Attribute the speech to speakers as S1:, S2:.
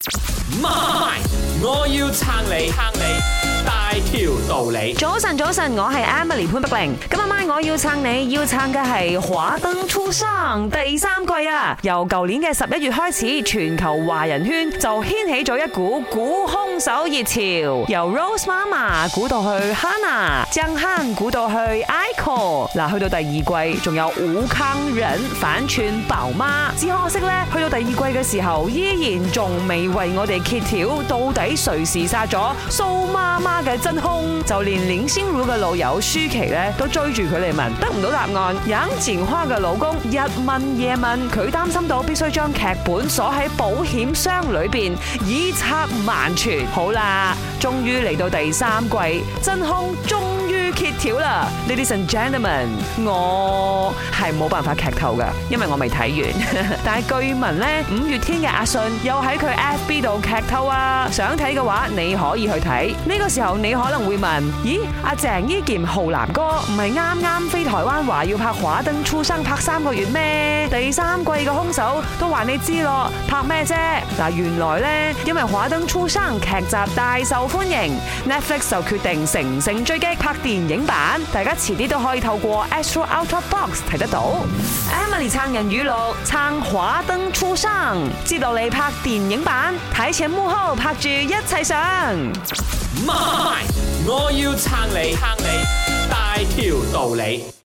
S1: 媽，我要撐你，大條道理。
S2: 早晨，我係 Emily 潘碧玲。今日晚我要撐你，要撐嘅係《華燈初上》第3季啊！由舊年嘅11月開始，全球華人圈就掀起咗一股估兇手熱潮，由 Rose 媽媽估到去 Hannah， 江漢估到去 Aiko。嗱，去到第2季，仲有吳康仁反串寶媽。只可惜咧，去到第2季嘅時候，依然仲未為我哋揭曉到底誰是殺咗蘇媽媽嘅真兇，就連林心如嘅老友舒淇咧都追住佢嚟問，得唔到答案。楊謹華嘅老公日問夜問，佢擔心到必須將劇本鎖喺保險箱裏邊，以策萬全。好啦，終於嚟到第3季，真兇終於揭曉啦 ！Ladies and gentlemen， 我係冇辦法劇透噶，因為我未睇完。但係據聞咧，5月天嘅阿信又喺佢 FB 度劇透啊！想睇嘅話，你可以去睇。呢個時候你可能會問：咦，阿鄭伊健浩南哥唔係啱啱飛台灣話要拍《華燈初上》拍3個月咩？第3季嘅兇手都話你知咯，拍咩啫？嗱，原來呢，因為《華燈初上》劇集大受歡迎 ，Netflix 就決定乘勝追擊拍電影版，大家遲啲都可以透過 Astro Ultra Box 睇得到。Emily 撐人語錄，撐《華燈初上》，接落嚟拍電影版，睇前幕後拍住一齊上。
S1: 媽，我要撐你，大條道理。